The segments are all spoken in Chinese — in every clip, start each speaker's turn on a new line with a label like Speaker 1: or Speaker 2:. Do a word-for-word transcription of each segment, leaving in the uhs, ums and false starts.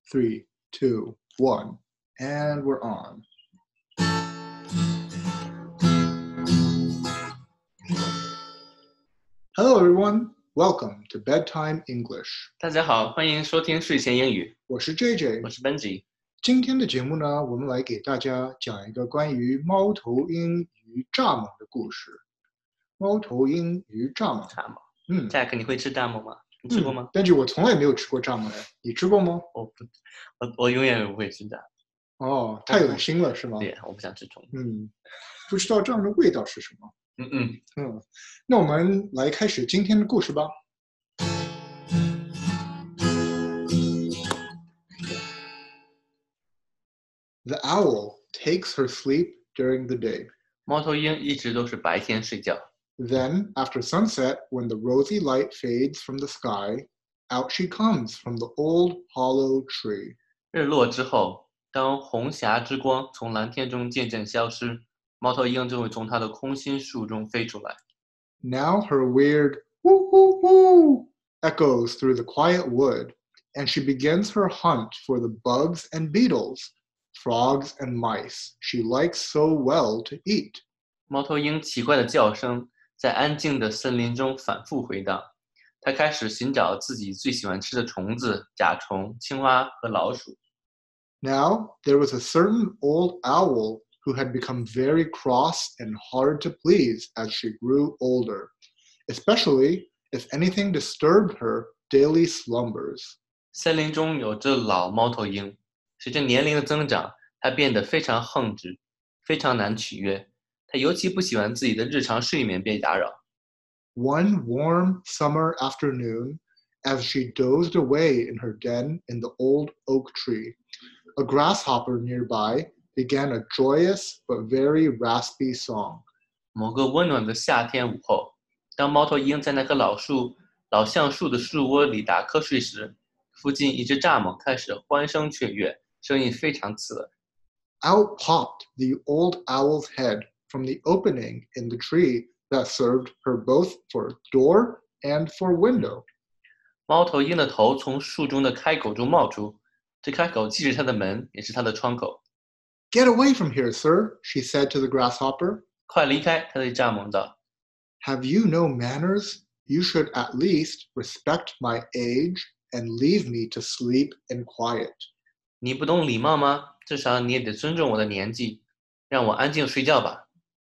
Speaker 1: three, two, one, and we're on. Hello, everyone. Welcome to Bedtime English.
Speaker 2: 大家好，欢迎收听睡前英语。
Speaker 1: 我是 J J，
Speaker 2: 我是 Benji。
Speaker 1: 今天的节目呢，我们来给大家讲一个关于猫头鹰与蚱蜢的故事。猫头鹰与蚱蜢。
Speaker 2: 蚱蜢。
Speaker 1: 嗯
Speaker 2: Jack， 你会吃蚱蜢吗？你吃过吗？
Speaker 1: 但是我从来没有吃过蚱蜢的，你吃过吗？
Speaker 2: 我不，我我永远不会吃蚱
Speaker 1: 蜢。哦，太恶心了，是吗？
Speaker 2: 对，我不想吃虫。
Speaker 1: 嗯，不知道这样的味道是什么。
Speaker 2: 嗯嗯
Speaker 1: 嗯，那我们来开始今天的故事吧。The owl takes her sleep during the day.
Speaker 2: 猫头鹰一直都是白天睡觉。
Speaker 1: Then, after sunset, when the rosy light fades from the sky, out she comes from the old hollow tree.
Speaker 2: 日落之后，当红霞之光从蓝天中渐渐消失，猫头鹰就会从它的空心树中飞出来。
Speaker 1: Now her weird woo woo woo echoes through the quiet wood, and she begins her hunt for the bugs and beetles, frogs and mice she likes so well to eat.
Speaker 2: 猫头鹰奇怪的叫声在安静的森林中反复回荡，它开始寻找自己最喜欢吃的虫子、甲虫、青蛙和老鼠。
Speaker 1: Now there was a certain old owl who had become very cross and hard to please as she grew older, especially if anything disturbed her daily slumbers.
Speaker 2: 森林中有只老猫头鹰，随着年龄的增长，它变得非常横直，非常难取悦。它尤其不喜欢自己的日常睡眠被打扰。
Speaker 1: One warm summer afternoon, as she dozed away in her den in the old oak tree, a grasshopper nearby began a joyous but very raspy song.
Speaker 2: 某个温暖的夏天午后，当猫头鹰在那棵老树、老橡树的树窝里打瞌睡时，附近一只蚱蜢开始欢声雀跃，声音非常刺耳。
Speaker 1: Out popped the old owl's head from the opening in the tree that served her both for door and for window.
Speaker 2: 猫头鹰的头从树中的开口中冒出，这开口既是它的门，也是它的窗口。
Speaker 1: Get away from here, sir, she said to the grasshopper.
Speaker 2: 快离开，它对蚱蜢道。
Speaker 1: Have you no manners? You should at least respect my age and leave me to sleep in quiet.
Speaker 2: 你不懂礼貌吗？至少你也得尊重我的年纪，让我安静睡觉吧。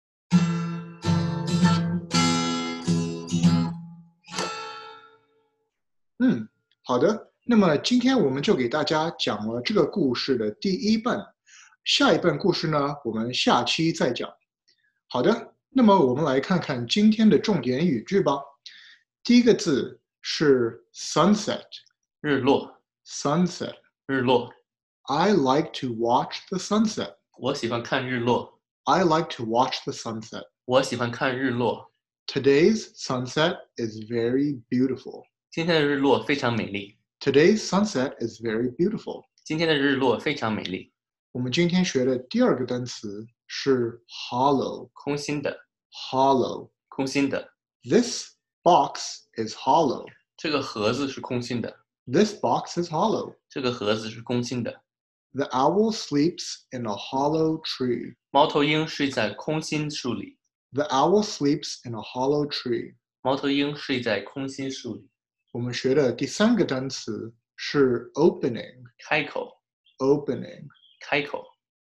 Speaker 1: 嗯，好的。那么今天我们就给大家讲了这个故事的第一半，下一半故事呢，我们下期再讲。好的，那么我们来看看今天的重点语句吧。第一个字是 sunset，
Speaker 2: 日落。
Speaker 1: sunset，
Speaker 2: 日落。
Speaker 1: I like to watch the sunset.
Speaker 2: 我喜欢看日落。
Speaker 1: I like to watch the sunset.
Speaker 2: 我喜欢看日落。
Speaker 1: Today's sunset is very beautiful.
Speaker 2: 今天的日落非常美丽。
Speaker 1: Today's sunset is very beautiful.
Speaker 2: 今天的日落非常美丽。
Speaker 1: 我们今天学的第二个单词是 hollow，
Speaker 2: 空心的。
Speaker 1: hollow，
Speaker 2: 空心的。
Speaker 1: This box is hollow.
Speaker 2: 这个盒子是空心的。
Speaker 1: This box is hollow.
Speaker 2: 这个盒子是空心的。
Speaker 1: The owl sleeps in a hollow tree.
Speaker 2: 猫头鹰睡在空心树里。
Speaker 1: The owl sleeps in a hollow tree.
Speaker 2: 猫头鹰睡在空心树里。
Speaker 1: 我们学的第三个单词是 opening，
Speaker 2: 开口。
Speaker 1: opening，
Speaker 2: 开口。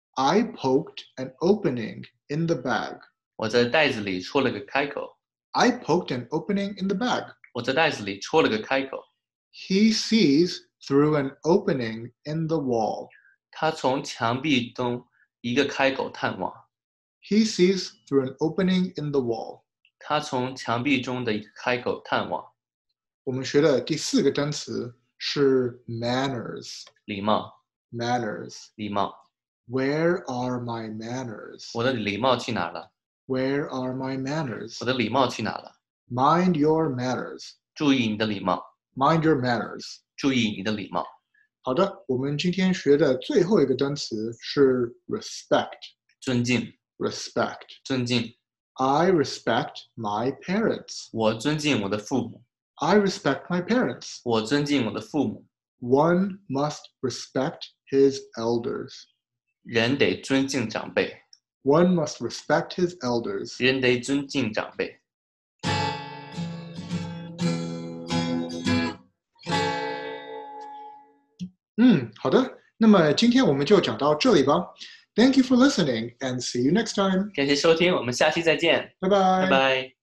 Speaker 1: I poked an opening in the bag.
Speaker 2: 我在袋子里戳了个开口。
Speaker 1: I poked an opening in the bag.
Speaker 2: 我在袋子里戳了个开口。
Speaker 1: He sees through an opening in the wall.
Speaker 2: 他从墙壁中一个开口探望。
Speaker 1: He sees through an opening in the wall.
Speaker 2: 他从墙壁中的一个开口探望。
Speaker 1: 我们学的第四个单词是 manners.
Speaker 2: 礼貌。
Speaker 1: Manners.
Speaker 2: 礼貌。
Speaker 1: Where are my manners?
Speaker 2: 我的礼貌去哪了？
Speaker 1: Where are my manners?
Speaker 2: 我的礼貌去哪了？
Speaker 1: Mind your manners.
Speaker 2: 注意你的礼貌。
Speaker 1: Mind your manners.
Speaker 2: 注意你的礼貌。
Speaker 1: 好的，我们今天学的最后一个单词是 respect.
Speaker 2: 尊敬。
Speaker 1: Respect.
Speaker 2: 尊敬。
Speaker 1: I respect my parents.
Speaker 2: 我尊敬我的父母。
Speaker 1: I respect my parents.
Speaker 2: 我尊敬我的父母。
Speaker 1: One must respect his elders.
Speaker 2: 人得尊敬长辈。
Speaker 1: One must respect his elders.
Speaker 2: 人得尊敬长辈。
Speaker 1: 嗯，好的。那么今天我们就讲到这里吧。Thank you for listening and see you next time.
Speaker 2: 感谢收听，我们下期再见。
Speaker 1: 拜拜。
Speaker 2: 拜拜。